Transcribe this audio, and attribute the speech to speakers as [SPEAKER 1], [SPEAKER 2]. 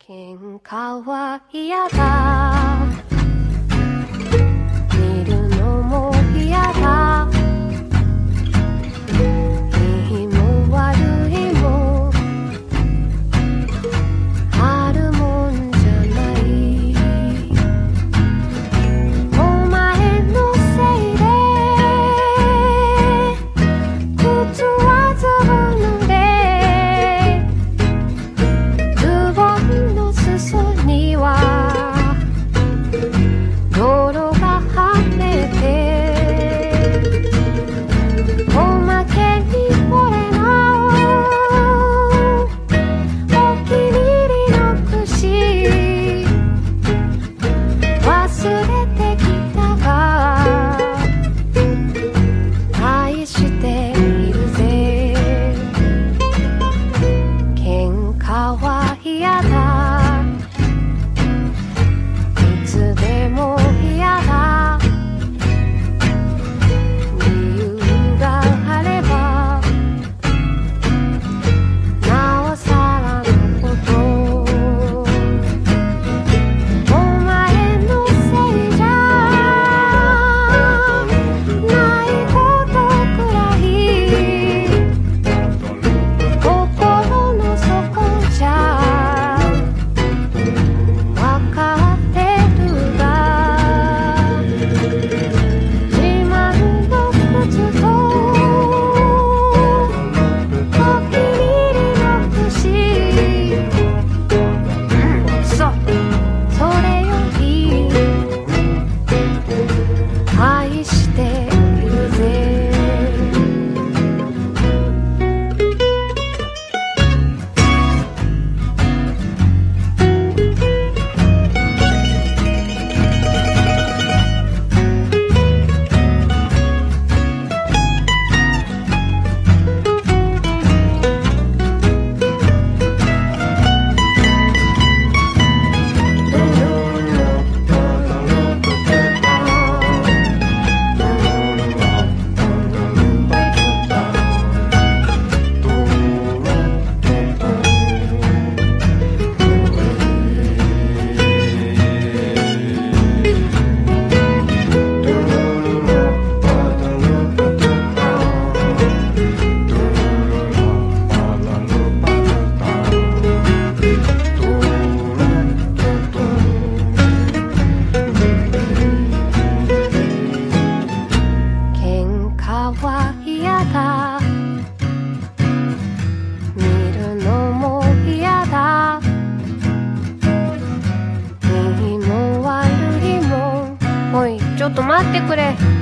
[SPEAKER 1] 喧嘩は嫌だ、見るのも嫌だ、いいも悪いもあるもんじゃない、お前のせいで靴はずぶ濡れ、ズボンの裾には泥がはねて、おまけにこれのお気に入りの串忘れてきたが愛しているぜ、喧嘩は嫌だ、いつでも嫌だ、理由があればなおさらのこと、お前のせいじゃないことくらい心の底じゃわかってるが、自慢の靴とお気に入りの串、それより愛しているぜ。喧嘩は嫌だ、見るのも嫌だ、いいも悪いも、おいちょっと待ってくれ。